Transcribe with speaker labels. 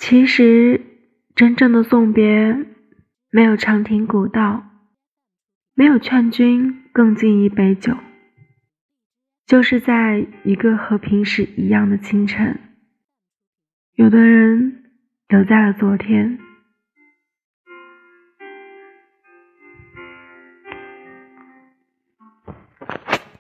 Speaker 1: 其实真正的送别没有长亭古道，没有劝君更尽一杯酒，就是在一个和平时一样的清晨，有的人留在了昨天，